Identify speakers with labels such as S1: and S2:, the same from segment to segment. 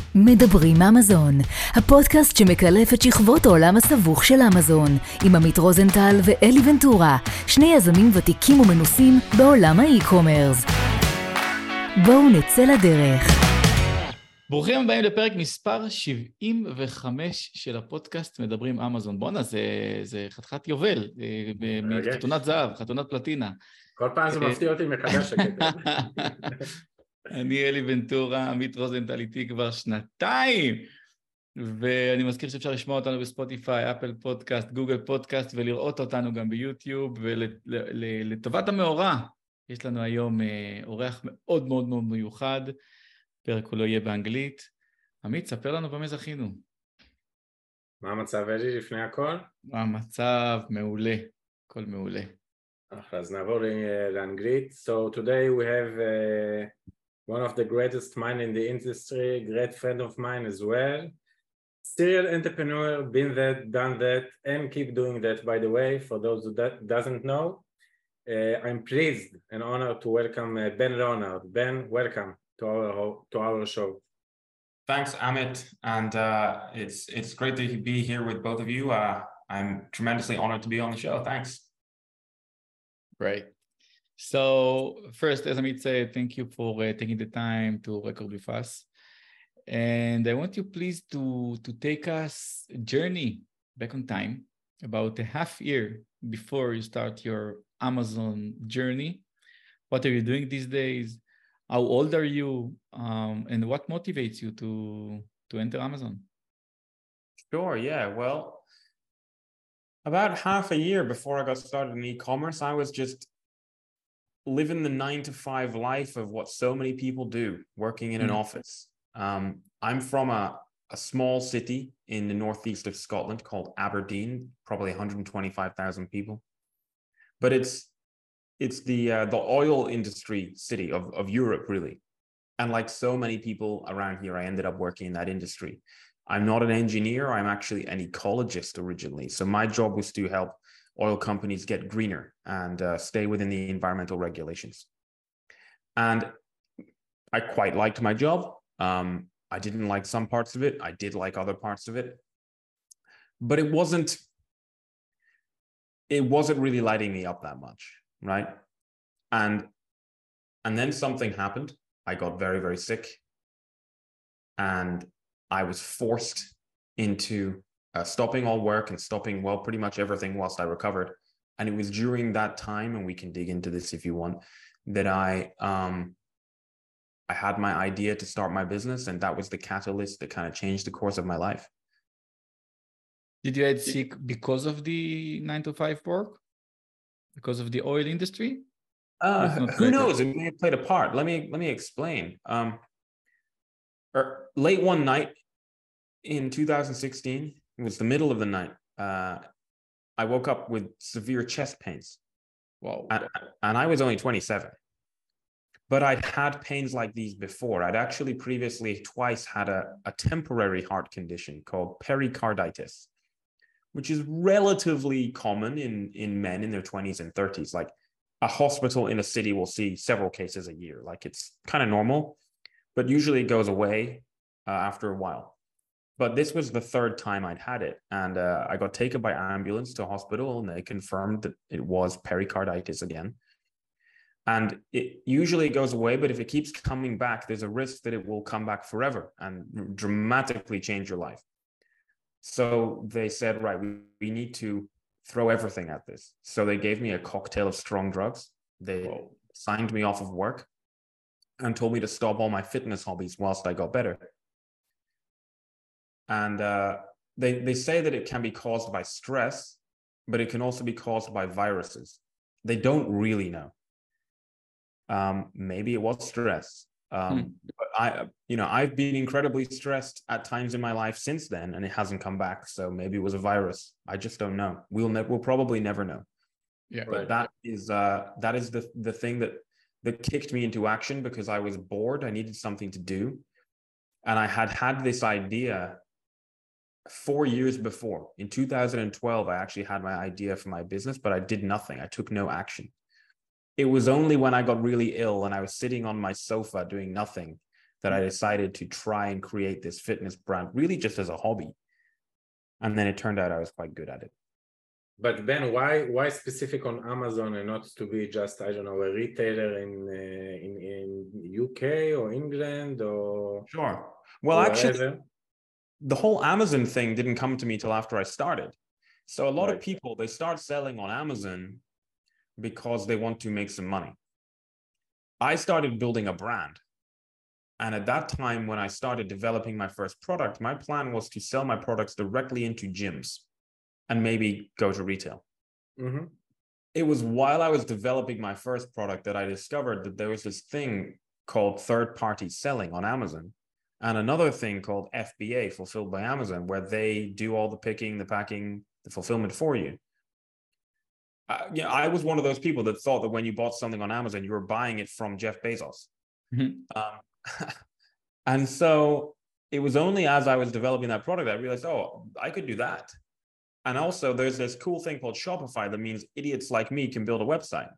S1: מדברים אמזון, הפודקאסט שמקלף את שכבות העולם הסבוך של אמזון, עם עמית רוזנטל ואלי ונטורה, שני יזמים ותיקים ומנוסים בעולם האי-קומרס. בואו נצא לדרך.
S2: ברוכים הבאים לפרק מספר 75 של הפודקאסט מדברים אמזון. בואנה, זה חתיכת יובל, מחתונת זהב, חתונת פלטינה.
S3: כל פעם זה מפתיע אותי מחדש הקטע.
S2: אני אלי ונטורה, עמית רוזנטל איתי כבר שנתיים, ואני מזכיר שאפשר לשמוע אותנו בספוטיפיי, אפל פודקאסט, גוגל פודקאסט, ולראות אותנו גם ביוטיוב, ולטובת המאורע, יש לנו היום אורח מאוד מאוד מאוד מיוחד, פרק הוא לא יהיה באנגלית. עמית, ספר לנו במה זכינו.
S3: מה המצב אלי לפני הכל?
S2: המצב מעולה, הכל מעולה.
S3: אז נעבור לאנגלית. So today we have one of the greatest mind in the industry, great friend of mine as well. Serial entrepreneur, been that, done that, and keep doing that, by the way, for those who doesn't know. I'm pleased and honored to welcome Ben Leonard. Ben, welcome to our show.
S4: Thanks, Amit, and it's great to be here with both of you. I'm tremendously honored to be on the show. Thanks.
S2: Great. So first, as Amit said, thank you for taking the time to record with us. And I want you please to take us a journey back on time, about a half year before you start your Amazon journey. What are you doing these days? How old are you? And what motivates you to enter Amazon?
S4: Sure, yeah. Well, about half a year before I got started in e-commerce, I was just living the 9-to-5 life of what so many people do, working in an office. I'm from a small city in the northeast of Scotland called Aberdeen, probably 125,000 people. But it's the oil industry city of Europe, really. And like so many people around here, I ended up working in that industry. I'm not an engineer, I'm actually an ecologist originally. So my job was to help oil companies get greener and stay within the environmental regulations. And I quite liked my job. I didn't like some parts of it. I did like other parts of it. But it wasn't really lighting me up that much, right? And then something happened. I got very, very sick. And I was forced into stopping all work and stopping, well, pretty much everything whilst I recovered. And it was during that time, and we can dig into this if you want, that I had my idea to start my business, and that was the catalyst that kind of changed the course of my life.
S2: Did you get sick because of the 9-to-5 work? Because of the oil industry?
S4: Who knows? It may have played a part. Let me explain. Late one night in 2016, it was the middle of the night. I woke up with severe chest pains.
S2: Wow.
S4: And I was only 27. But I'd had pains like these before. I'd actually previously twice had a temporary heart condition called pericarditis, which is relatively common in men in their 20s and 30s. Like a hospital in a city will see several cases a year. Like it's kind of normal, but usually it goes away after a while. But this was the third time I'd had it. And I got taken by ambulance to hospital, and they confirmed that it was pericarditis again. And it usually goes away, but if it keeps coming back, there's a risk that it will come back forever and dramatically change your life. So they said, right, we need to throw everything at this. So they gave me a cocktail of strong drugs. They signed me off of work and told me to stop all my fitness hobbies whilst I got better. And they say that it can be caused by stress, but it can also be caused by viruses. They don't really know. Maybe it was stress. But I've been incredibly stressed at times in my life since then, and it hasn't come back. So maybe it was a virus. I just don't know. We'll probably never know.
S2: Yeah.
S4: But that is the thing that kicked me into action, because I was bored. I needed something to do. And I had this idea 4 years before. In 2012, I actually had my idea for my business, but I did nothing. I took no action. It was only when I got really ill and I was sitting on my sofa doing nothing that I decided to try and create this fitness brand really just as a hobby. And then it turned out I was quite good at it.
S3: But Ben, why specific on Amazon and not to be just, I don't know, a retailer in UK or England or
S4: Sure. Well, actually, the whole Amazon thing didn't come to me till after I started. So a lot of people, they start selling on Amazon because they want to make some money. I started building a brand. And at that time, when I started developing my first product, my plan was to sell my products directly into gyms and maybe go to retail.
S3: Mm-hmm.
S4: It was while I was developing my first product that I discovered that there was this thing called third-party selling on Amazon and another thing called FBA, Fulfilled by Amazon, where they do all the picking, the packing, the fulfillment for you. I was one of those people that thought that when you bought something on Amazon, you were buying it from Jeff Bezos. Mm-hmm. And so it was only as I was developing that product, I realized, oh, I could do that. And also there's this cool thing called Shopify that means idiots like me can build a website.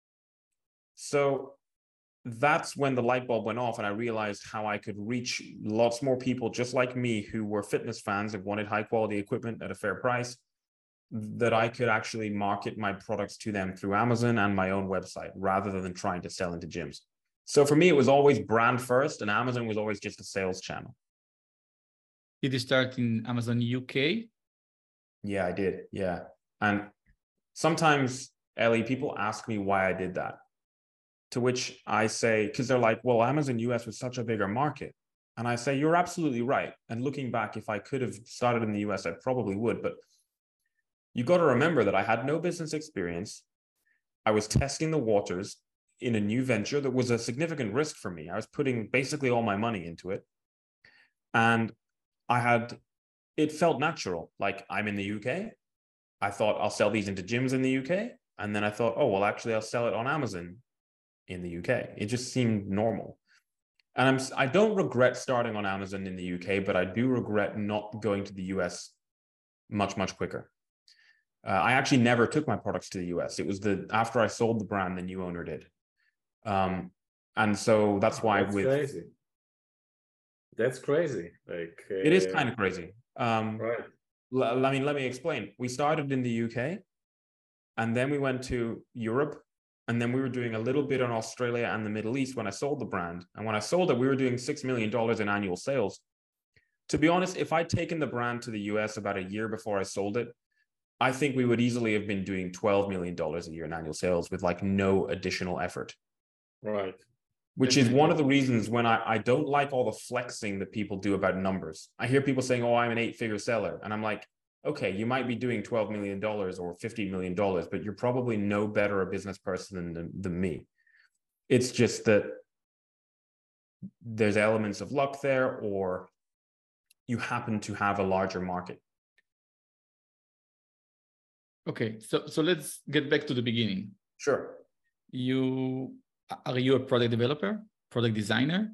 S4: So that's when the light bulb went off and I realized how I could reach lots more people just like me who were fitness fans and wanted high quality equipment at a fair price, that I could actually market my products to them through Amazon and my own website rather than trying to sell into gyms. So for me, it was always brand first and Amazon was always just a sales channel.
S2: Did you start in Amazon UK?
S4: Yeah, I did. Yeah. And sometimes, Ellie, people ask me why I did that. To which I say, because they're like, well, Amazon US was such a bigger market. And I say, you're absolutely right. And looking back, if I could have started in the US, I probably would. But you got to remember that I had no business experience. I was testing the waters in a new venture that was a significant risk for me. I was putting basically all my money into it. And it felt natural. Like, I'm in the UK. I thought I'll sell these into gyms in the UK. And then I thought, oh, well, actually, I'll sell it on Amazon in the UK. It just seemed normal. And I don't regret starting on Amazon in the UK, but I do regret not going to the US much, much quicker. I actually never took my products to the US. It was after I sold the brand, the new owner did. And so that's why
S3: crazy. That's crazy. Like
S4: it is kind of crazy.
S3: Right.
S4: Let me explain. We started in the UK and then we went to Europe and then we were doing a little bit in Australia and the Middle East when I sold the brand. And when I sold it, we were doing $6 million in annual sales. To be honest, if I'd taken the brand to the US about a year before I sold it, I think we would easily have been doing $12 million a year in annual sales with like no additional effort.
S3: Right.
S4: Which is one of the reasons when I don't like all the flexing that people do about numbers. I hear people saying, oh, I'm an 8-figure seller. And I'm like, okay, you might be doing $12 million or $50 million, but you're probably no better a business person than me. It's just that there's elements of luck there, or you happen to have a larger market.
S2: Okay, so let's get back to the beginning.
S4: Sure.
S2: Are you a product developer, product designer?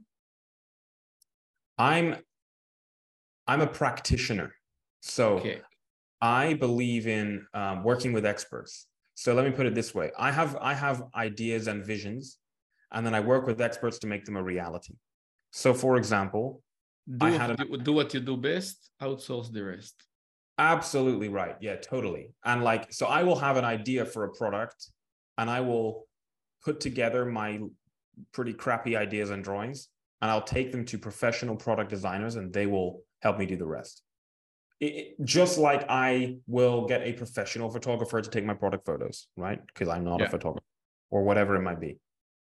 S4: I'm a practitioner. So okay. I believe in working with experts. So let me put it this way. I have ideas and visions, and then I work with experts to make them a reality. So for example,
S2: do what you do best, outsource the rest.
S4: Absolutely right. Yeah, totally. And like, so I will have an idea for a product and I will put together my pretty crappy ideas and drawings, and I'll take them to professional product designers and they will help me do the rest. Just like I will get a professional photographer to take my product photos, right? Because I'm not a photographer or whatever it might be.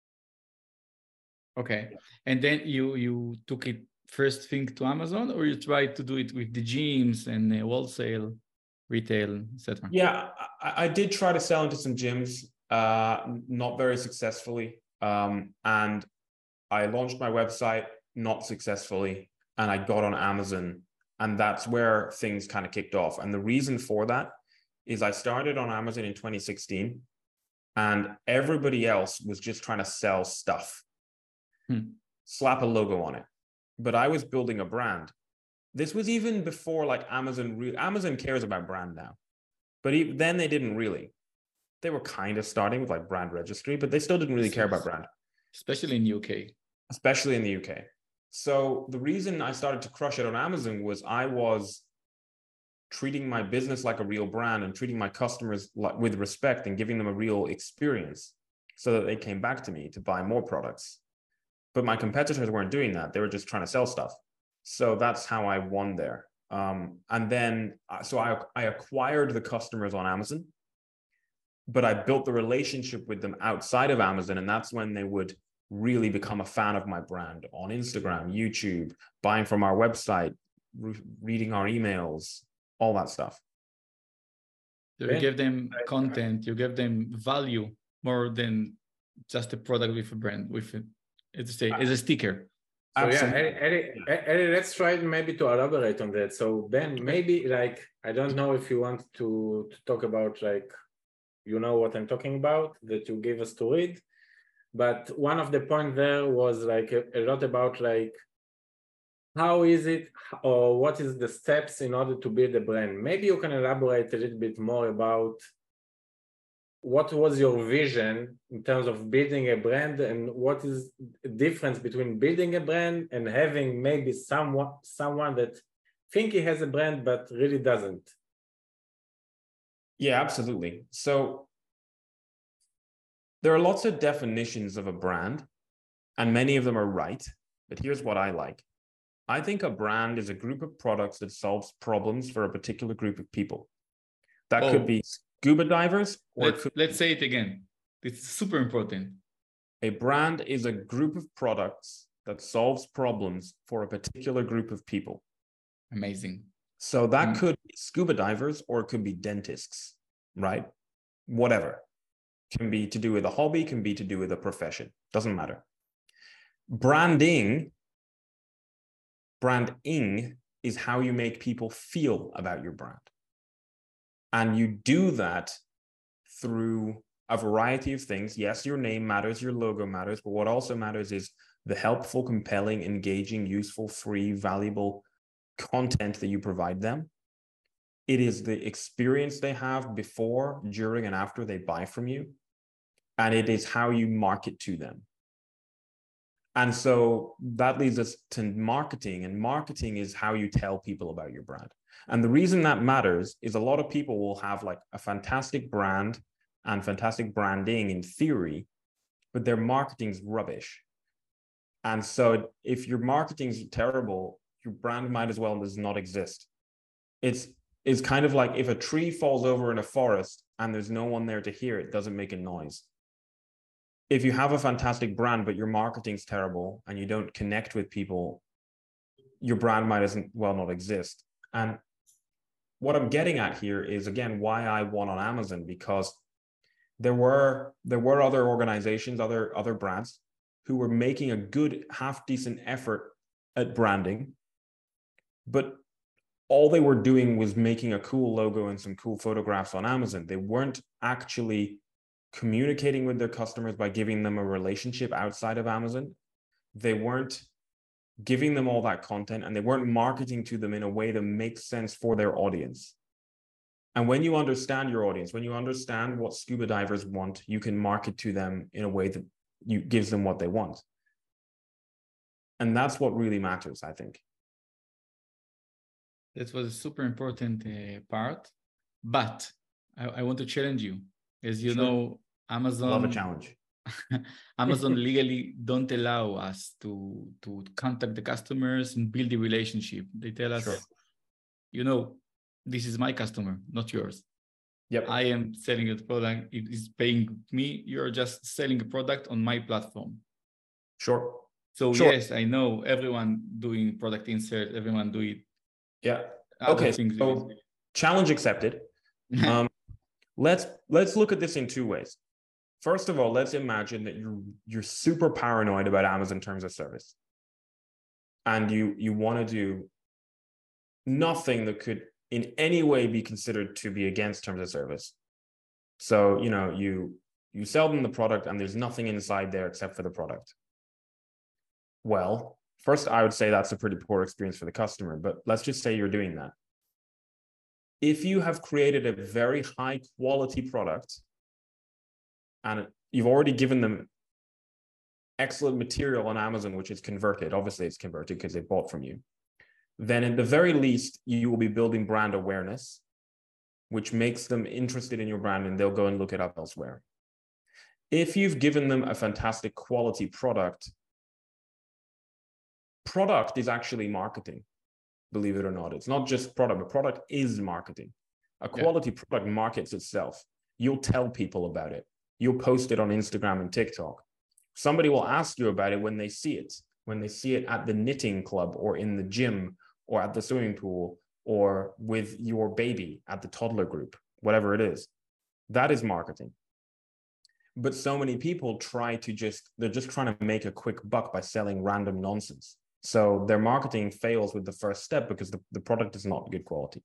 S2: Okay. And then you took it first thing to Amazon, or you tried to do it with the gyms and wholesale, retail, etc.?
S4: Yeah, I did try to sell into some gyms, not very successfully. And I launched my website, not successfully, and I got on Amazon, and that's where things kind of kicked off. And the reason for that is I started on Amazon in 2016, and everybody else was just trying to sell stuff, slap a logo on it. But I was building a brand. This was even before like Amazon cares about brand now, but then they didn't really. They were kind of starting with like brand registry, but they still didn't really care about brand.
S2: Especially in the UK.
S4: Especially in the UK. So the reason I started to crush it on Amazon was I was treating my business like a real brand and treating my customers with respect and giving them a real experience so that they came back to me to buy more products. But my competitors weren't doing that. They were just trying to sell stuff. So that's how I won there. And then, so I acquired the customers on Amazon, but I built the relationship with them outside of Amazon. And that's when they would really become a fan of my brand on Instagram, YouTube, buying from our website, reading our emails, all that stuff.
S2: So you give them content, you give them value more than just a product with a brand, with a, it's a sticker.
S3: So Eli, let's try maybe to elaborate on that. So Ben, maybe like, I don't know if you want to talk about like, you know what I'm talking about, that you gave us to read. But one of the points there was like a lot about like, how is it or what is the steps in order to build a brand? Maybe you can elaborate a little bit more about what was your vision in terms of building a brand and what is the difference between building a brand and having maybe someone that think he has a brand but really doesn't.
S4: Yeah, absolutely. So there are lots of definitions of a brand, and many of them are right, but here's what I like. I think a brand is a group of products that solves problems for a particular group of people. That could be scuba divers. Or
S2: let's say it again. It's super important.
S4: A brand is a group of products that solves problems for a particular group of people.
S2: Amazing.
S4: So that could be scuba divers, or it could be dentists, right? Whatever. Can be to do with a hobby, can be to do with a profession. Doesn't matter. Branding is how you make people feel about your brand. And you do that through a variety of things. Yes, your name matters, your logo matters, but what also matters is the helpful, compelling, engaging, useful, free, valuable content that you provide them. It is the experience they have before, during, and after they buy from you. And it is how you market to them. And so that leads us to marketing, and marketing is how you tell people about your brand. And the reason that matters is a lot of people will have like a fantastic brand and fantastic branding in theory, but their marketing's rubbish. And so if your marketing's terrible, your brand might as well does not exist. It's kind of like if a tree falls over in a forest and there's no one there to hear it, doesn't make a noise. If you have a fantastic brand, but your marketing's terrible and you don't connect with people, your brand might as well not exist. And what I'm getting at here is, again, why I won on Amazon, because there were other organizations, other brands who were making a good, half decent effort at branding, but all they were doing was making a cool logo and some cool photographs on Amazon. They weren't actually communicating with their customers by giving them a relationship outside of Amazon. They weren't giving them all that content, and they weren't marketing to them in a way that makes sense for their audience. And when you understand your audience, when you understand what scuba divers want, you can market to them in a way that gives them what they want. And that's what really matters, I think.
S2: That was a super important part, but I want to challenge you. As you know, Amazon...
S4: Love a challenge.
S2: Amazon legally don't allow us to contact the customers and build a relationship. They tell us, you know, this is my customer, not yours.
S4: Yep.
S2: I am selling a product. It is paying me. You're just selling a product on my platform.
S4: Sure.
S2: So yes, I know everyone doing product insert, everyone do it.
S4: Yeah. Okay. So challenge accepted. Let's look at this in two ways. First of all, let's imagine that you're super paranoid about Amazon terms of service, and you want to do nothing that could in any way be considered to be against terms of service. So, you know, you sell them the product and there's nothing inside there except for the product. Well, first, I would say that's a pretty poor experience for the customer, but let's just say you're doing that. If you have created a very high quality product and you've already given them excellent material on Amazon, which is converted, obviously it's converted because they bought from you, then at the very least, you will be building brand awareness, which makes them interested in your brand and they'll go and look it up elsewhere. If you've given them a fantastic quality product is actually marketing, believe it or not. It's not just product, but product is marketing. A quality product markets itself. You'll tell people about it. You'll post it on Instagram and TikTok. Somebody will ask you about it when they see it at the knitting club or in the gym or at the swimming pool or with your baby at the toddler group, whatever it is. That is marketing. But so many people they're just trying to make a quick buck by selling random nonsense. So their marketing fails with the first step because the product is not good quality.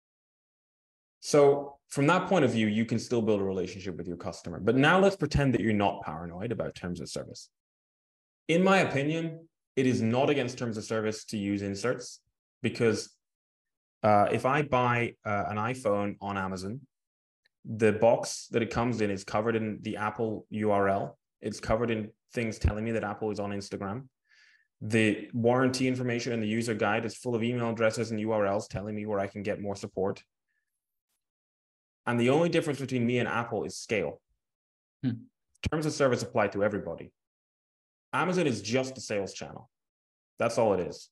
S4: So from that point of view, you can still build a relationship with your customer. But now let's pretend that you're not paranoid about terms of service. In my opinion, it is not against terms of service to use inserts because if I buy an iPhone on Amazon, the box that it comes in is covered in the Apple URL. It's covered in things telling me that Apple is on Instagram. The warranty information and the user guide is full of email addresses and URLs telling me where I can get more support. And the only difference between me and Apple is scale. Terms of service apply to everybody. Amazon is just a sales channel. That's all it is.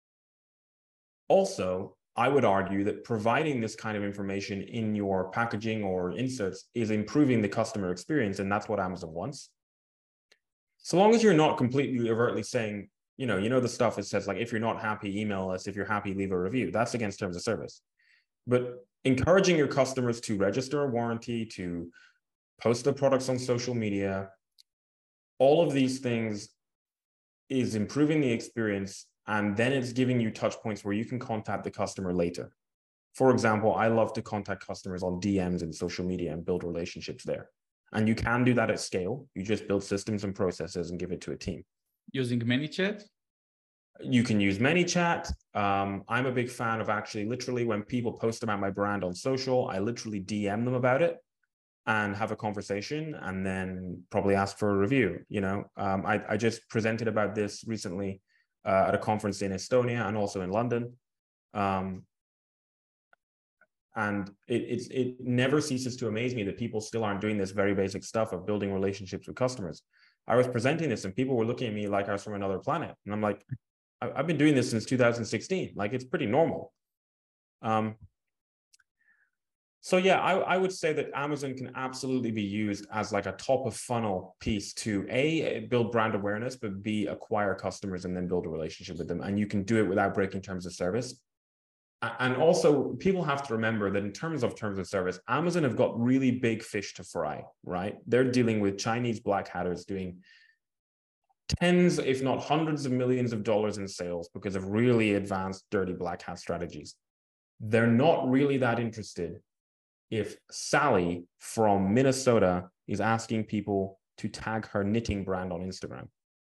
S4: Also, I would argue that providing this kind of information in your packaging or inserts is improving the customer experience, and that's what Amazon wants. So long as you're not completely overtly saying, you know the stuff it says like, if you're not happy, email us. If you're happy, leave a review. That's against terms of service. But encouraging your customers to register a warranty, to post their products on social media, all of these things is improving the experience. And then it's giving you touch points where you can contact the customer later. For example, I love to contact customers on DMs and social media and build relationships there. And you can do that at scale. You just build systems and processes and give it to a team.
S2: Using ManyChat?
S4: You can use ManyChat. I'm a big fan of actually literally when people post about my brand on social, I literally DM them about it and have a conversation and then probably ask for a review. I just presented about this recently at a conference in Estonia and also in London. And it never ceases to amaze me that people still aren't doing this very basic stuff of building relationships with customers. I was presenting this and people were looking at me like I was from another planet. And I'm like, I've been doing this since 2016. Like, it's pretty normal. So yeah, I would say that Amazon can absolutely be used as like a top of funnel piece to A, build brand awareness, but B, acquire customers and then build a relationship with them. And you can do it without breaking terms of service. And also people have to remember that in terms of service, Amazon have got really big fish to fry, right? They're dealing with Chinese black hatters doing tens, if not hundreds of millions of dollars in sales because of really advanced dirty black hat strategies. They're not really that interested if Sally from Minnesota is asking people to tag her knitting brand on Instagram.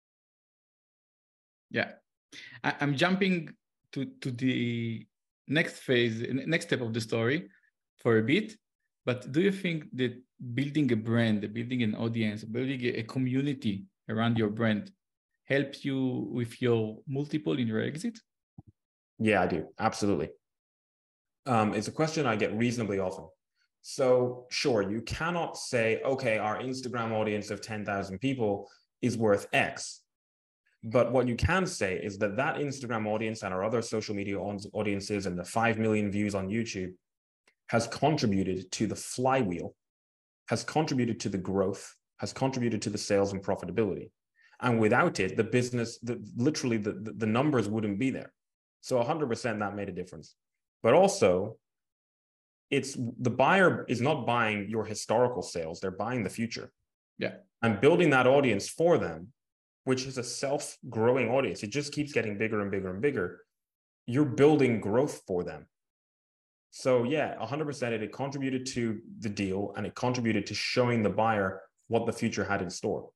S2: Yeah, I'm jumping to the next phase, next step of the story for a bit. But do you think that building a brand, building an audience, building a community around your brand helps you with your multiple in your exit?
S4: Yeah, I do. Absolutely. It's a question I get reasonably often. So sure, you cannot say, okay, our Instagram audience of 10,000 people is worth X. But what you can say is that Instagram audience and our other social media audiences and the 5 million views on YouTube has contributed to the flywheel, has contributed to the growth, has contributed to the sales and profitability. And without it, the business, literally the numbers wouldn't be there. So 100% that made a difference. But also, the buyer is not buying your historical sales, they're buying the future.
S2: Yeah. And
S4: building that audience for them, which is a self-growing audience, it just keeps getting bigger and bigger and bigger. You're building growth for them. So yeah, 100% it contributed to the deal and it contributed to showing the buyer what the future had in store.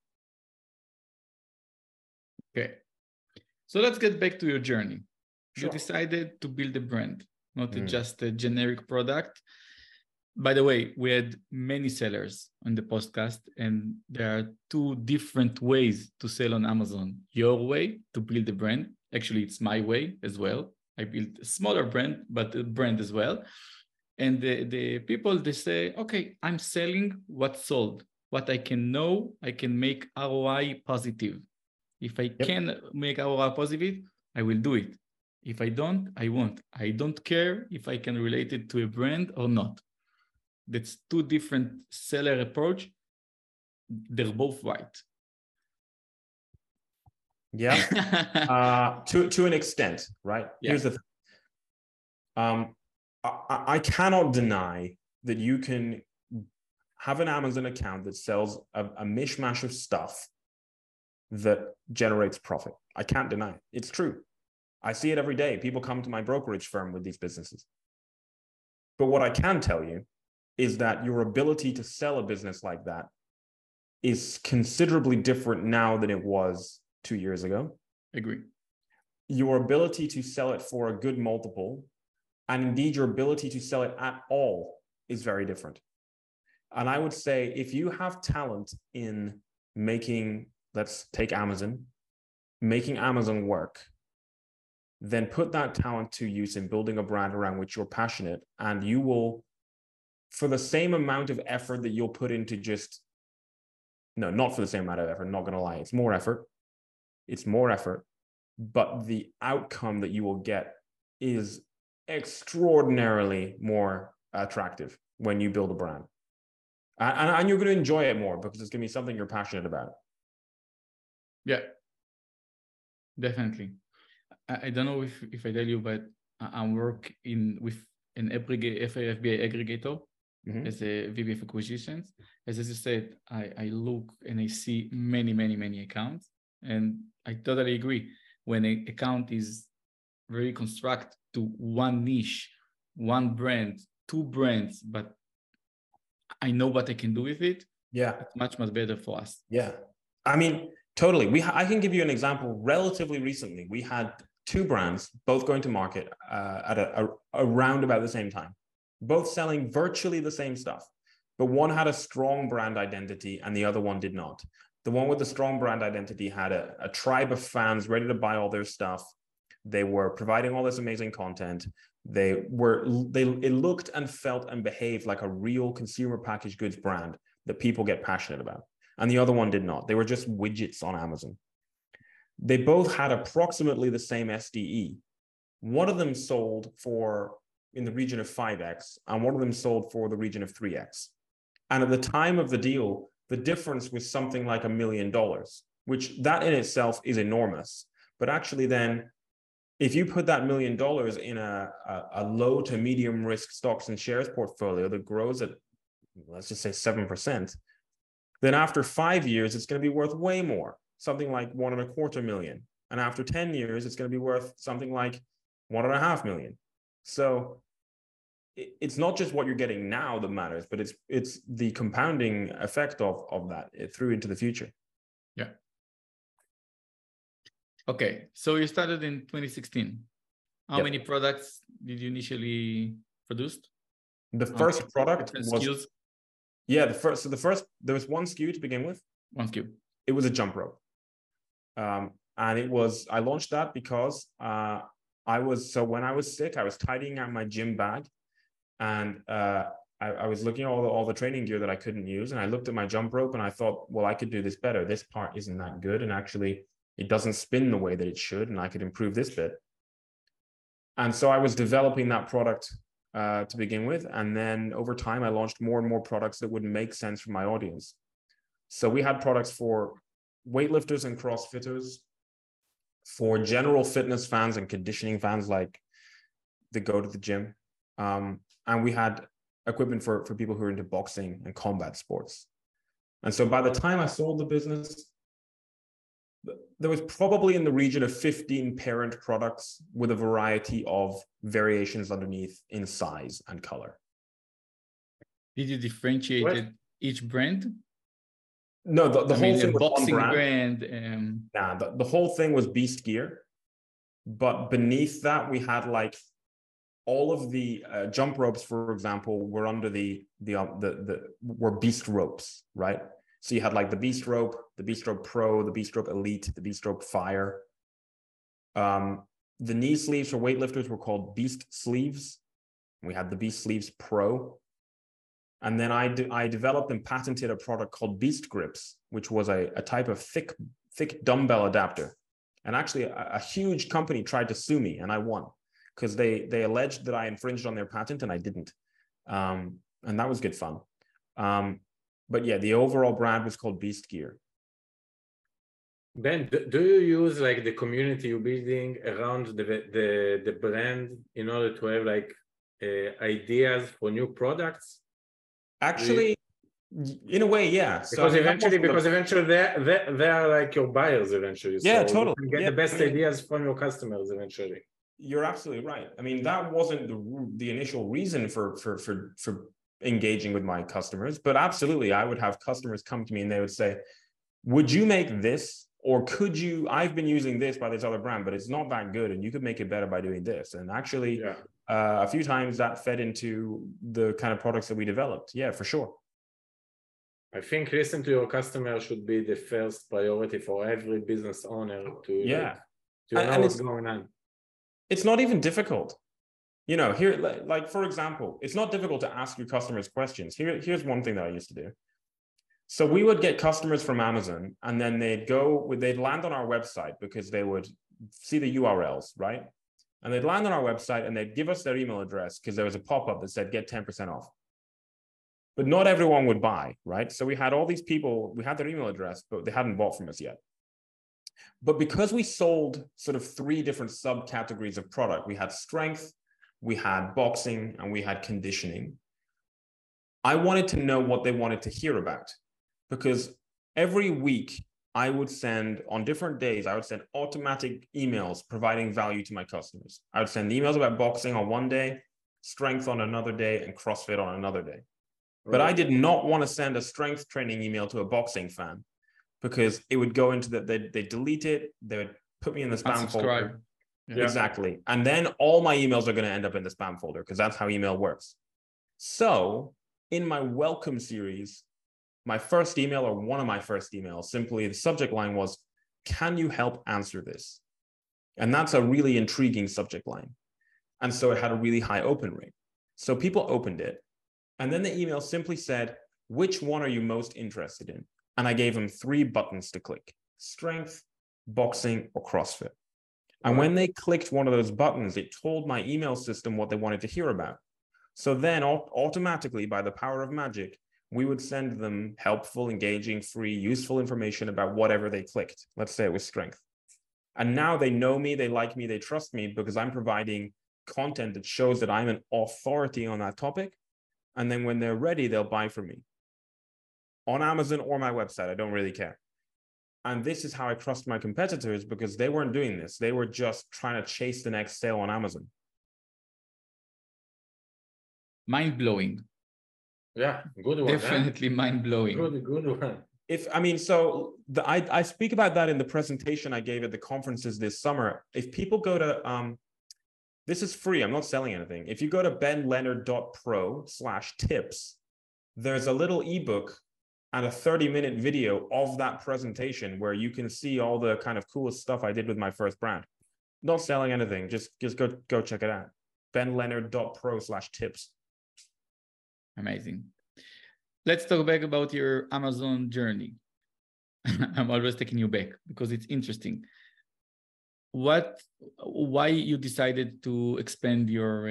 S2: Okay. So let's get back to your journey.
S4: Sure.
S2: You decided to build a brand, not just a generic product. By the way, we had many sellers on the podcast, and there are two different ways to sell on Amazon. Your way to build a brand. Actually, it's my way as well. I built a smaller brand, but a brand as well. And the people, they say, okay, I'm selling what's sold. What I can know, I can make ROI positive. If I can make ROI positive, I will do it. If I don't, I won't. I don't care if I can relate it to a brand or not. That's two different seller approach. They're both right.
S4: Yeah, to an extent, right? Yeah. Here's the thing. I cannot deny that you can have an Amazon account that sells a mishmash of stuff that generates profit. I can't deny it. It's true. I see it every day. People come to my brokerage firm with these businesses. But what I can tell you is that your ability to sell a business like that is considerably different now than it was 2 years ago.
S2: Agree.
S4: Your ability to sell it for a good multiple, and indeed your ability to sell it at all, is very different. And I would say if you have talent in making, let's take Amazon, making Amazon work, then put that talent to use in building a brand around which you're passionate, and you will, for the same amount of effort that you'll put into not for the same amount of effort, not going to lie, it's more effort, but the outcome that you will get is extraordinarily more attractive when you build a brand. And you're going to enjoy it more because it's going to be something you're passionate about.
S2: Yeah, definitely. I don't know if I tell you, but I work with an FBA aggregator as a VP of acquisitions. As you said, I look and I see many accounts, and I totally agree. When an account is very constructed to one niche, one brand, two brands, but I know what I can do with it.
S4: Yeah,
S2: it's much better for us.
S4: Yeah, I mean, totally. I can give you an example. Relatively recently, we had two brands, both going to market at around about the same time, both selling virtually the same stuff, but one had a strong brand identity and the other one did not. The one with the strong brand identity had a tribe of fans ready to buy all their stuff. They were providing all this amazing content. It looked and felt and behaved like a real consumer packaged goods brand that people get passionate about. And the other one did not. They were just widgets on Amazon. They both had approximately the same SDE. One of them sold for in the region of 5x, and one of them sold for the region of 3x. And at the time of the deal, the difference was something like $1 million, which that in itself is enormous. But actually then, if you put that $1 million in a low to medium risk stocks and shares portfolio that grows at, let's just say 7%, then after 5 years, it's going to be worth way more, something like $1.25 million. And after 10 years, it's going to be worth something like $1.5 million. So it's not just what you're getting now that matters, but it's the compounding effect of that through into the future.
S2: Yeah. Okay, so you started in 2016. How many products did you initially produce?
S4: The first product was
S2: SKUs?
S4: There was one SKU to begin with.
S2: One SKU.
S4: It was a jump rope. And I launched that because when I was sick, I was tidying out my gym bag, and I was looking at all the training gear that I couldn't use, and I looked at my jump rope and I thought, well, I could do this better. This part isn't that good, and actually it doesn't spin the way that it should, and I could improve this bit. And so I was developing that product to begin with, and then over time I launched more and more products that would make sense for my audience. So we had products for weightlifters and CrossFitters, for general fitness fans and conditioning fans like that go to the gym. And we had equipment for people who are into boxing and combat sports. And so by the time I sold the business, there was probably in the region of 15 parent products with a variety of variations underneath in size and color.
S2: Did you differentiate each brand?
S4: No, the whole thing was
S2: boxing
S4: one brand. The whole thing was Beast Gear, but beneath that we had like all of the jump ropes, for example, were under were Beast ropes, right? So you had like the Beast Rope Pro, the Beast Rope Elite, the Beast Rope Fire. The knee sleeves for weightlifters were called Beast Sleeves. We had the Beast Sleeves Pro. And then I developed and patented a product called Beast Grips, which was a type of thick dumbbell adapter. And actually a huge company tried to sue me and I won because they alleged that I infringed on their patent and I didn't. And that was good fun. But yeah, the overall brand was called Beast Gear.
S3: Ben, do you use like the community you're building around the brand in order to have like ideas for new products?
S4: Actually, in a way, yeah.
S3: Because eventually they are like your buyers eventually.
S4: Yeah,
S3: so
S4: totally.
S3: You can get the best ideas from your customers eventually.
S4: You're absolutely right. I mean, that wasn't the initial reason for engaging with my customers, but absolutely, I would have customers come to me and they would say, "Would you make this? Or could you? I've been using this by this other brand, but it's not that good, and you could make it better by doing this." And actually, a few times that fed into the kind of products that we developed. Yeah, for sure.
S3: I think listen to your customer should be the first priority for every business owner to know what's going on.
S4: It's not even difficult. You know, here, like for example, it's not difficult to ask your customers questions. Here's one thing that I used to do. So we would get customers from Amazon and then they'd land on our website because they would see the URLs, right? And they'd land on our website and they'd give us their email address because there was a pop-up that said get 10% off. But not everyone would buy, right? So we had all these people, we had their email address, but they hadn't bought from us yet. But because we sold sort of 3 different subcategories of product, we had strength, we had boxing, and we had conditioning. I wanted to know what they wanted to hear about. Because every week I would send, on different days, I would send automatic emails providing value to my customers. I would send emails about boxing on one day, strength on another day, and CrossFit on another day. Right. But I did not want to send a strength training email to a boxing fan because it would go into they delete it, they would put me in the spam folder. Yeah. Exactly. And then all my emails are going to end up in the spam folder because that's how email works. So in my welcome series, my first email or one of my first emails, simply the subject line was, "Can you help answer this?" And that's a really intriguing subject line. And so it had a really high open rate. So people opened it. And then the email simply said, "Which one are you most interested in?" And I gave them 3 buttons to click: strength, boxing, or CrossFit. And when they clicked one of those buttons, it told my email system what they wanted to hear about. So then automatically, by the power of magic, we would send them helpful, engaging, free, useful information about whatever they clicked. Let's say it was strength. And now they know me, they like me, they trust me because I'm providing content that shows that I'm an authority on that topic. And then when they're ready, they'll buy from me on Amazon or my website. I don't really care. And this is how I trust my competitors because they weren't doing this. They were just trying to chase the next sale on Amazon.
S2: Mind-blowing.
S3: Yeah, good one.
S2: Definitely mind-blowing.
S3: Good one.
S4: I speak about that in the presentation I gave at the conferences this summer. If people go to, this is free, I'm not selling anything. If you go to benleonard.pro/tips, there's a little ebook and a 30-minute video of that presentation where you can see all the kind of coolest stuff I did with my first brand. Not selling anything, just go check it out. benleonard.pro/tips.
S2: Amazing. Let's talk back about your Amazon journey. I'm always taking you back because it's interesting. Why you decided to expand your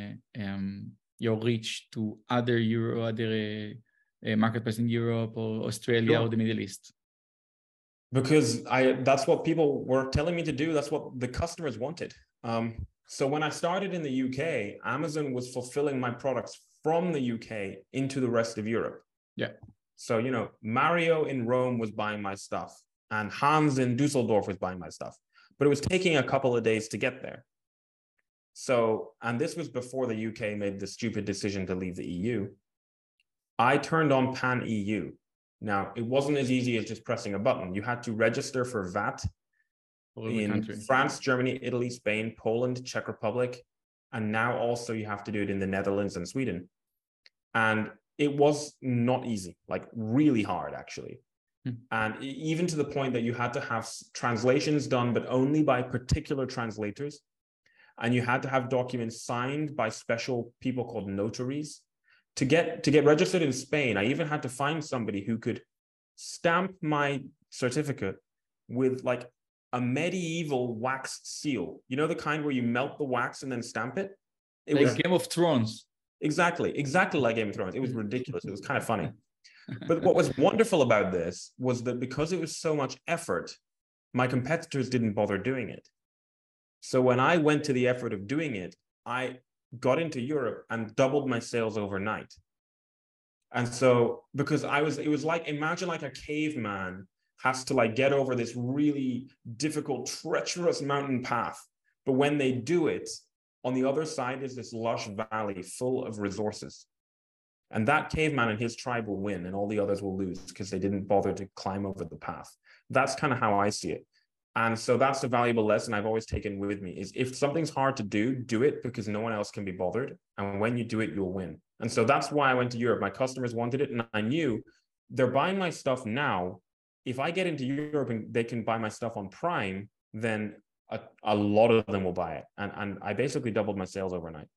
S2: reach to other marketplace in Europe or Australia or the Middle East?
S4: Because that's what people were telling me to do. That's what the customers wanted. So when I started in the UK, Amazon was fulfilling my products from the UK into the rest of Europe.
S2: Yeah.
S4: So, you know, Mario in Rome was buying my stuff and Hans in Dusseldorf was buying my stuff, but it was taking a couple of days to get there. So, and this was before the UK made the stupid decision to leave the EU. I turned on Pan EU. Now, it wasn't as easy as just pressing a button. You had to register for VAT in France, Germany, Italy, Spain, Poland, Czech Republic, And now also you have to do it in the Netherlands and Sweden. And it was not easy, like really hard, actually. And even to the point that you had to have translations done, but only by particular translators. And you had to have documents signed by special people called notaries. To get registered in Spain, I even had to find somebody who could stamp my certificate with like a medieval wax seal. You know, the kind where you melt the wax and then stamp it? It
S2: like
S4: was
S2: Game of Thrones.
S4: Exactly like Game of Thrones. It was ridiculous. It was kind of funny. But what was wonderful about this was that because it was so much effort, my competitors didn't bother doing it. So when I went to the effort of doing it, I got into Europe and doubled my sales overnight. And so because it was like, imagine like a caveman has to like get over this really difficult, treacherous mountain path. But when they do it, on the other side is this lush valley full of resources. And that caveman and his tribe will win, and all the others will lose because they didn't bother to climb over the path. That's kind of how I see it. And so that's a valuable lesson I've always taken with me is if something's hard to do it because no one else can be bothered. And when you do it, you'll win. And so that's why I went to Europe. My customers wanted it, and I knew they're buying my stuff now. If I get into Europe and they can buy my stuff on Prime, then a lot of them will buy it. And I basically doubled my sales overnight.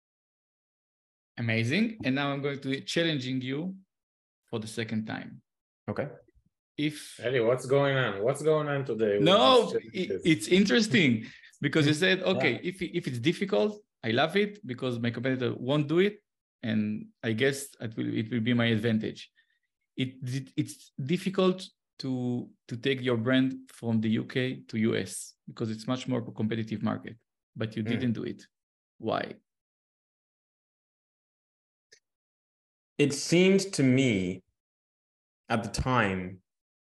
S2: Amazing. And now I'm going to be challenging you for the second time.
S4: Okay.
S3: Ellie, what's going on? What's going on today?
S2: No, it's interesting because you said, okay, if it's difficult, I love it because my competitor won't do it. And I guess it will be my advantage. It's difficult to take your brand from the UK to US because it's much more competitive market, but you didn't do it. Why?
S4: It seemed to me at the time,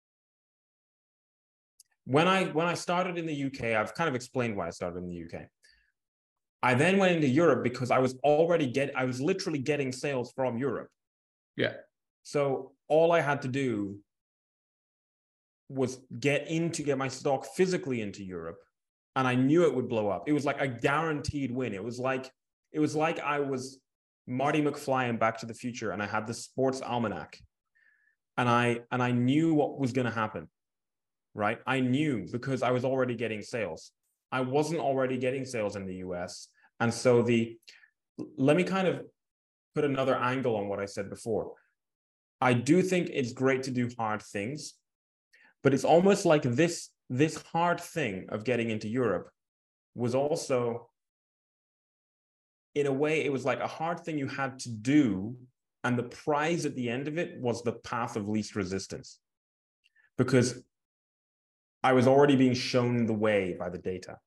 S4: when I started in the UK, I've kind of explained why I started in the UK. I then went into Europe because I was literally getting sales from Europe.
S2: Yeah.
S4: So all I had to do was get my stock physically into Europe, and I knew it would blow up. It was like a guaranteed win. It was like I was Marty McFly in Back to the Future, and I had the sports almanac, and I knew what was going to happen, right? I knew because I was already getting sales. I wasn't already getting sales in the US. And so let me kind of put another angle on what I said before. I do think it's great to do hard things, but it's almost like this hard thing of getting into Europe was also, in a way, it was like a hard thing you had to do. And the prize at the end of it was the path of least resistance, because I was already being shown the way by the data.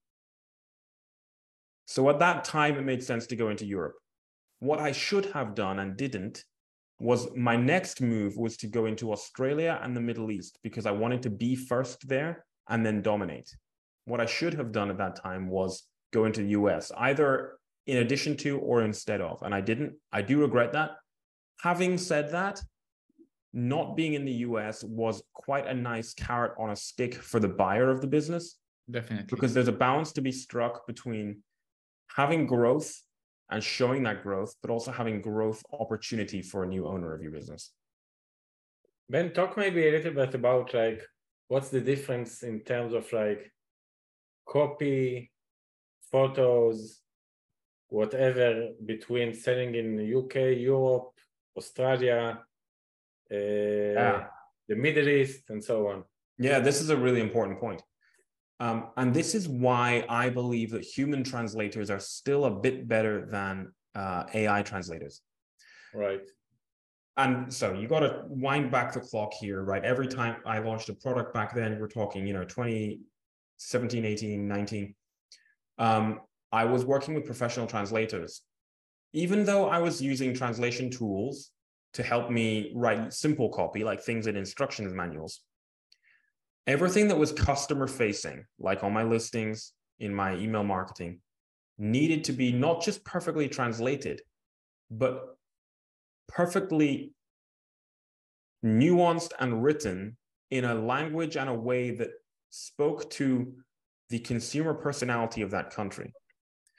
S4: So at that time, it made sense to go into Europe. What I should have done and didn't was my next move was to go into Australia and the Middle East, because I wanted to be first there and then dominate. What I should have done at that time was go into the US, either in addition to or instead of, and I didn't. I do regret that. Having said that, not being in the US was quite a nice carrot on a stick for the buyer of the business.
S2: Definitely.
S4: Because there's a balance to be struck between having growth and showing that growth, but also having growth opportunity for a new owner of your business.
S3: Ben, talk maybe a little bit about like, what's the difference in terms of like copy, photos, whatever, between selling in the UK, Europe, Australia, the Middle East, and so on.
S4: Yeah, this is a really important point. And this is why I believe that human translators are still a bit better than AI translators.
S3: Right.
S4: And so you got to wind back the clock here, right? Every time I launched a product back then, we're talking, 2017, 18, 19. I was working with professional translators. Even though I was using translation tools to help me write simple copy, like things in instructions manuals, everything that was customer facing, like on my listings, in my email marketing, needed to be not just perfectly translated, but perfectly nuanced and written in a language and a way that spoke to the consumer personality of that country.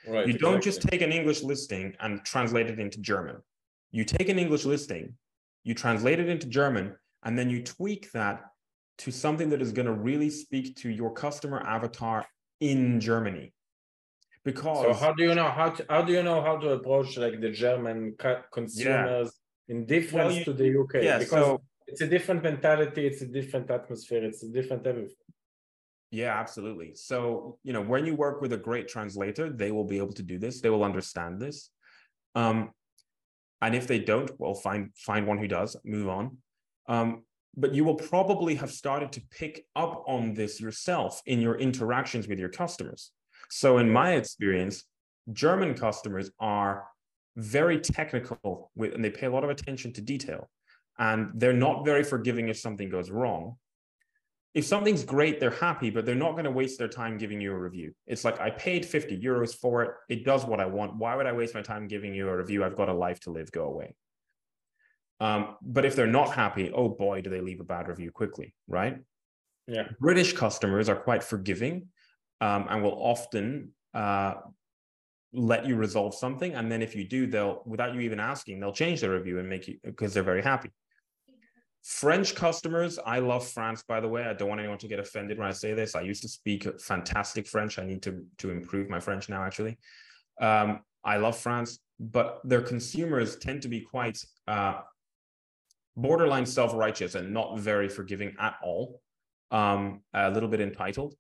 S3: Right.
S4: You don't
S3: Exactly.
S4: just take an English listing and translate it into German. You take an English listing, you translate it into German, and then you tweak that to something that is going to really speak to your customer avatar in Germany. Because
S3: So how do you know how to approach like the German consumers in difference to the UK?
S4: Yeah,
S3: because
S4: so
S3: it's a different mentality, it's a different atmosphere, it's a different everything.
S4: yeah, absolutely. So, when you work with a great translator, they will be able to do this. They will understand this. And if they don't, well, find one who does, move on. But you will probably have started to pick up on this yourself in your interactions with your customers. So in my experience, German customers are very technical and they pay a lot of attention to detail. And they're not very forgiving if something goes wrong. If something's great, they're happy, but they're not going to waste their time giving you a review. It's like, I paid 50 euros for it. It does what I want. Why would I waste my time giving you a review? I've got a life to live, go away. But if they're not happy, oh boy, do they leave a bad review quickly, right?
S3: Yeah.
S4: British customers are quite forgiving and will often let you resolve something. And then if you do, they'll, without you even asking, they'll change their review and make you, because they're very happy. French customers, I love France, by the way. I don't want anyone to get offended when I say this. I used to speak fantastic French. I need to improve my French now, actually. I love France, but their consumers tend to be quite borderline self-righteous and not very forgiving at all, a little bit entitled.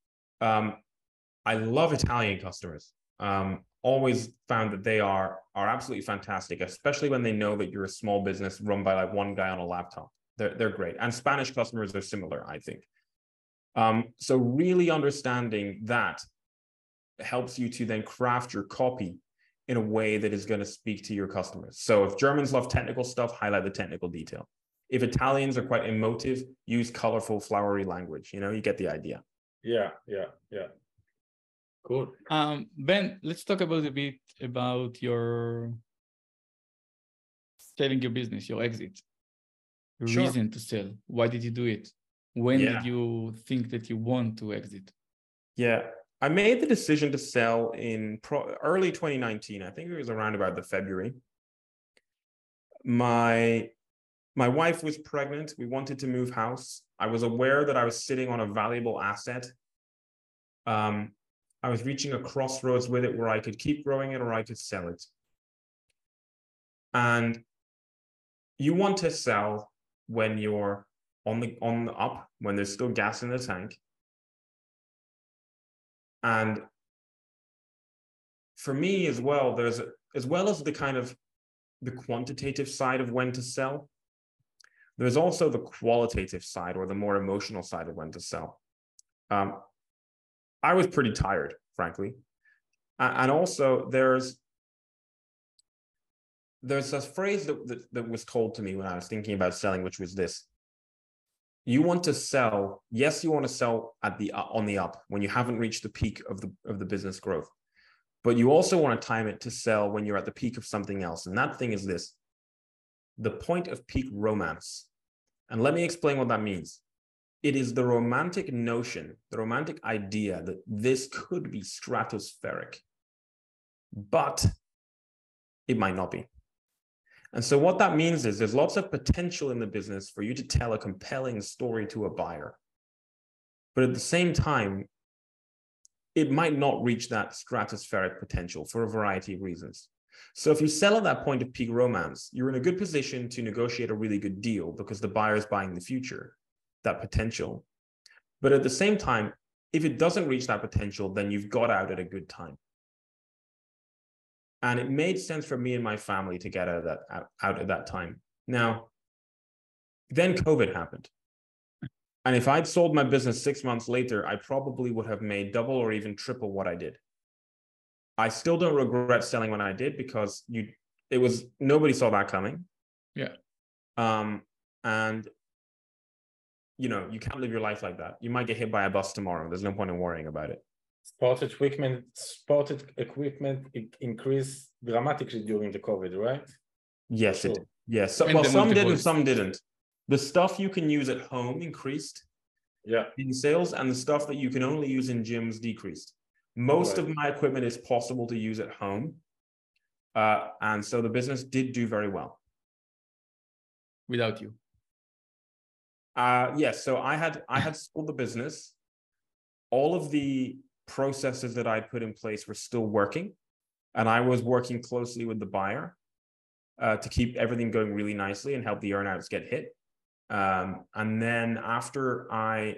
S4: I love Italian customers. Always found that they are absolutely fantastic, especially when they know that you're a small business run by like one guy on a laptop. They're great. And Spanish customers are similar, I think. So really understanding that helps you to then craft your copy in a way that is going to speak to your customers. So if Germans love technical stuff, highlight the technical detail. If Italians are quite emotive, use colorful, flowery language. You get the idea.
S3: Yeah. Cool.
S2: Ben, let's talk a bit about your selling your business, your exit,
S4: Sure.
S2: reason to sell. Why did you do it? When did you think that you want to exit?
S4: Yeah, I made the decision to sell in early 2019. I think it was around about the February. My wife was pregnant. We wanted to move house. I was aware that I was sitting on a valuable asset. I was reaching a crossroads with it where I could keep growing it or I could sell it. And you want to sell when you're on the up, when there's still gas in the tank. And for me as well, as well as the kind of the quantitative side of when to sell, there's also the qualitative side or the more emotional side of when to sell. I was pretty tired, frankly. And also there's a phrase that was told to me when I was thinking about selling, which was this: you want to sell, yes, you want to sell on the up when you haven't reached the peak of the business growth, but you also want to time it to sell when you're at the peak of something else. And that thing is this: the point of peak romance. And let me explain what that means. It is the romantic notion, the romantic idea that this could be stratospheric, but it might not be. And so what that means is there's lots of potential in the business for you to tell a compelling story to a buyer. But at the same time, it might not reach that stratospheric potential for a variety of reasons. So if you sell at that point of peak romance, you're in a good position to negotiate a really good deal because the buyer is buying the future, that potential. But at the same time, if it doesn't reach that potential, then you've got out at a good time. And it made sense for me and my family to get out at that time. Now, then COVID happened. And if I'd sold my business 6 months later, I probably would have made double or even triple what I did. I still don't regret selling when I did because nobody saw that coming.
S2: Yeah.
S4: And you can't live your life like that. You might get hit by a bus tomorrow. There's no point in worrying about it. Sport
S3: equipment increased dramatically during the COVID, right?
S4: Yes, it did. Yes. Well, some did and some didn't. The stuff you can use at home increased in sales, and the stuff that you can only use in gyms decreased. Most of my equipment is possible to use at home. And so the business did do very well.
S2: Without you?
S4: Yes. So I had sold the business. All of the processes that I put in place were still working. And I was working closely with the buyer to keep everything going really nicely and help the earnouts get hit. And then after I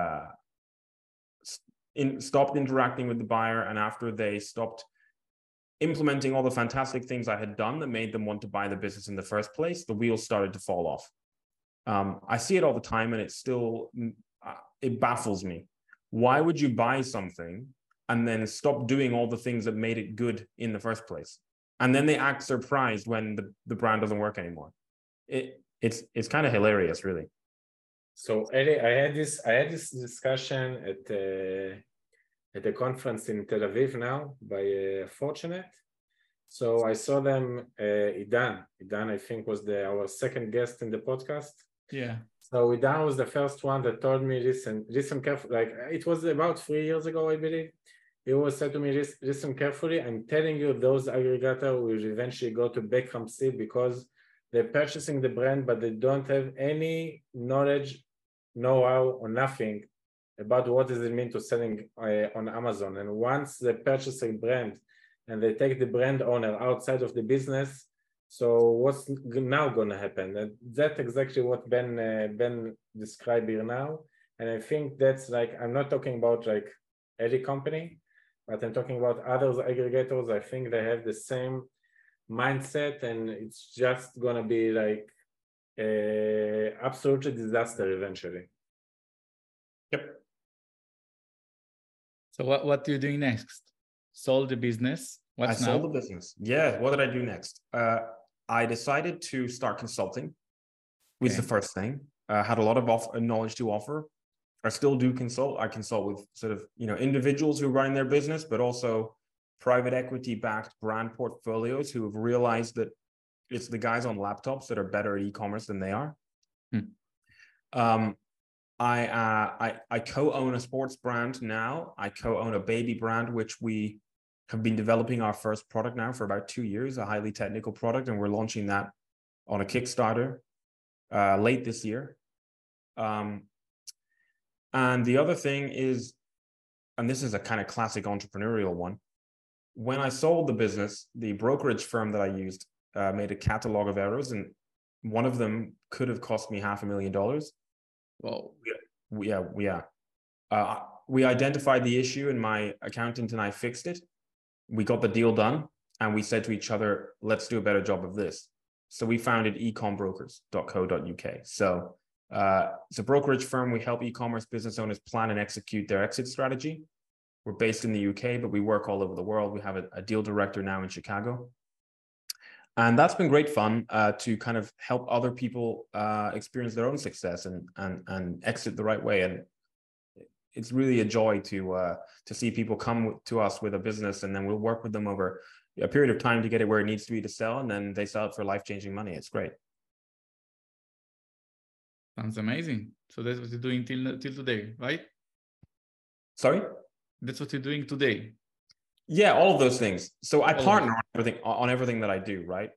S4: stopped interacting with the buyer, and after they stopped implementing all the fantastic things I had done that made them want to buy the business in the first place, the wheels started to fall off. I see it all the time, and it baffles me. Why would you buy something and then stop doing all the things that made it good in the first place? And then they act surprised when the brand doesn't work anymore. It's kind of hilarious, really.
S3: So Eli, I had this discussion at a conference in Tel Aviv now by Fortinet. So I saw them, Idan, I think was our second guest in the podcast.
S2: Yeah.
S3: So Idan was the first one that told me, listen carefully. Like, it was about 3 years ago, I believe. He always said to me, listen carefully. I'm telling you, those aggregators will eventually go to bankruptcy because they're purchasing the brand, but they don't have any knowledge, know-how, or nothing about what does it mean to selling on Amazon. And once they purchase a brand and they take the brand owner outside of the business, so what's now going to happen? And that's exactly what Ben described here now. And I think that's like, I'm not talking about like any company, but I'm talking about other aggregators. I think they have the same mindset, and it's just going to be like absolutely disaster eventually.
S4: Yep.
S2: So what are you doing next? Sold the business. What's now?
S4: I sold the business. Yeah. What did I do next? I decided to start consulting. Was the first thing. Had a lot of knowledge to offer. I still do consult. I consult with sort of, individuals who are running their business, but also private equity backed brand portfolios who have realized that it's the guys on laptops that are better at e-commerce than they are. I co-own a sports brand now. I co-own a baby brand, which we have been developing our first product now for about 2 years, a highly technical product, and we're launching that on a Kickstarter late this year. And the other thing is, and this is a kind of classic entrepreneurial one, when I sold the business, the brokerage firm that I used made a catalog of errors, and one of them could have cost me $500,000.
S2: Well,
S4: yeah. We identified the issue, and my accountant and I fixed it. We got the deal done, and we said to each other, let's do a better job of this. So we founded ecombrokers.co.uk. So it's a brokerage firm. We help e-commerce business owners plan and execute their exit strategy. We're based in the UK, but we work all over the world. We have a deal director now in Chicago. And that's been great fun to kind of help other people experience their own success and exit the right way. And it's really a joy to see people come to us with a business, and then we'll work with them over a period of time to get it where it needs to be to sell, and then they sell it for life-changing money. It's great.
S2: Sounds amazing. So that's what you're doing till today, right?
S4: Sorry?
S2: That's what you're doing today.
S4: Yeah, all of those things. So I partner on everything that I do, right?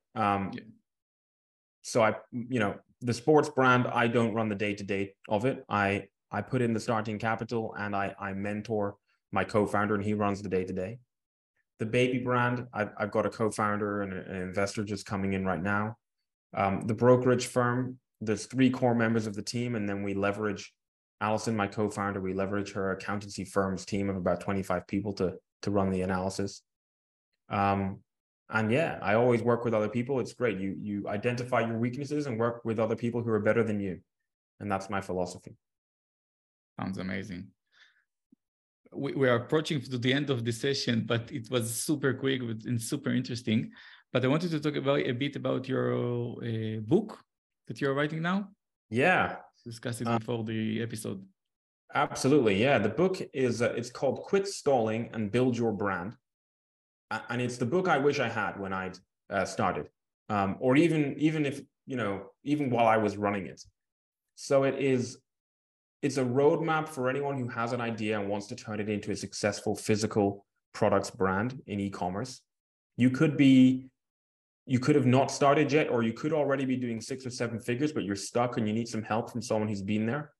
S4: So the sports brand, I don't run the day-to-day of it. I put in the starting capital, and I mentor my co-founder, and he runs the day-to-day. The baby brand, I've got a co-founder and an investor just coming in right now. The brokerage firm, there's 3 core members of the team, and then we leverage Allison, my co-founder, we leverage her accountancy firm's team of about 25 people to run the analysis. And yeah, I always work with other people. It's great. You identify your weaknesses and work with other people who are better than you. And that's my philosophy.
S2: Sounds amazing. We are approaching to the end of the session, but it was super quick and super interesting. But I wanted to talk a bit about your book that you're writing now.
S4: Yeah.
S2: Discuss it before the episode.
S4: Absolutely. Yeah. The book is, it's called Quit Stalling and Build Your Brand. And it's the book I wish I had when I started, or even if, even while I was running it. So it is it's a roadmap for anyone who has an idea and wants to turn it into a successful physical products brand in e-commerce. You could have not started yet, or you could already be doing 6 or 7 figures, but you're stuck and you need some help from someone who's been there.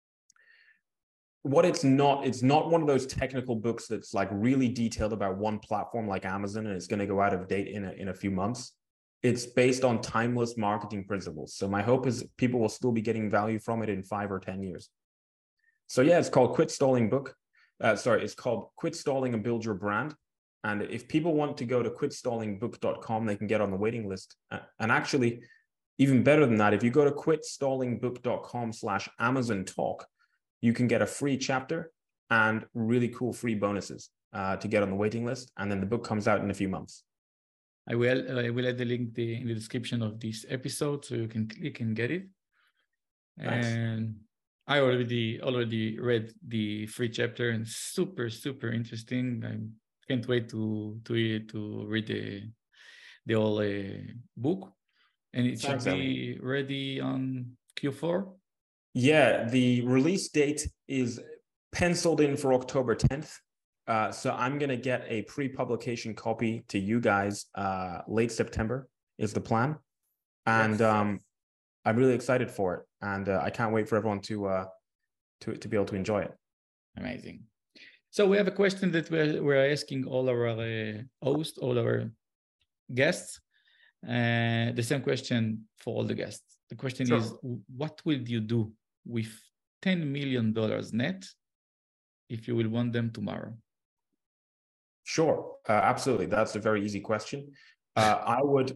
S4: It's not one of those technical books that's like really detailed about one platform like Amazon and it's going to go out of date in a few months. It's based on timeless marketing principles. So my hope is people will still be getting value from it in 5 or 10 years. So yeah, it's called Quit Stalling Book. It's called Quit Stalling and Build Your Brand. And if people want to go to quitstallingbook.com, they can get on the waiting list. And actually, even better than that, if you go to quitstallingbook.com/Amazon Talk, you can get a free chapter and really cool free bonuses to get on the waiting list. And then the book comes out in a few months.
S2: I will add the link in the description of this episode so you can click and get it.
S4: Thanks.
S2: And I already read the free chapter and super, super interesting. I can't wait to read the whole book. And it should be ready on Q4.
S4: Yeah, the release date is penciled in for October 10th. So I'm going to get a pre-publication copy to you guys late September is the plan. And I'm really excited for it. And I can't wait for everyone to be able to enjoy it.
S2: Amazing. So we have a question that we're asking all our hosts, all our guests. The same question for all the guests. The question is, what will you do with $10 million net if you will want them tomorrow?
S4: Sure, absolutely. That's a very easy question. I would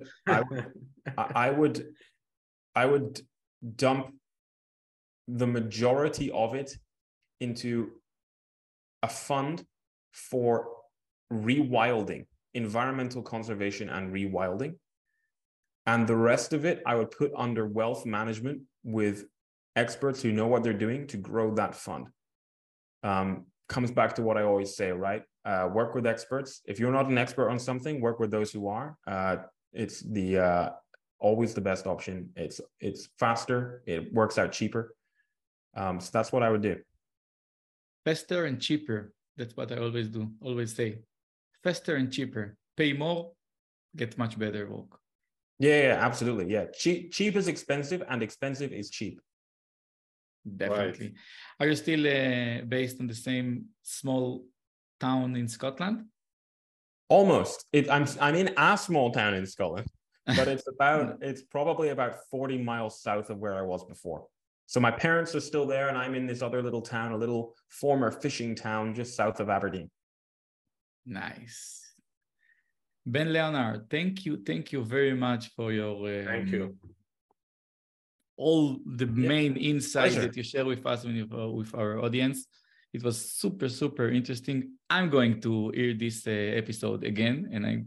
S4: dump the majority of it into a fund for rewilding, environmental conservation and rewilding. And the rest of it, I would put under wealth management with experts who know what they're doing to grow that fund. Comes back to what I always say, right? Work with experts. If you're not an expert on something, work with those who are. It's always the best option. It's faster. It works out cheaper. So that's what I would do.
S2: Faster and cheaper. That's what I always do. Always say, faster and cheaper. Pay more, get much better work.
S4: Yeah, absolutely. Yeah, cheap is expensive, and expensive is cheap.
S2: Definitely. Right. Are you still based in the same small town in Scotland?
S4: Almost. I'm in a small town in Scotland, but it's probably about 40 miles south of where I was before. So my parents are still there, and I'm in this other little town, a little former fishing town just south of Aberdeen.
S2: Nice. Ben Leonard, thank you very much for your
S3: thank you.
S2: All the main insights that you share with us with our audience. It was super, super interesting. I'm going to hear this episode again, and I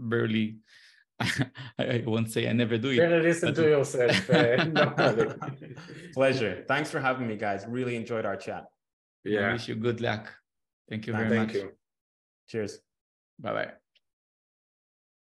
S2: won't say I never do it.
S3: Better listen to yourself.
S4: Pleasure. Thanks for having me, guys. Really enjoyed our chat.
S2: Yeah. I wish you good luck. Thank you very much.
S3: Thank you.
S4: Cheers.
S2: Bye-bye.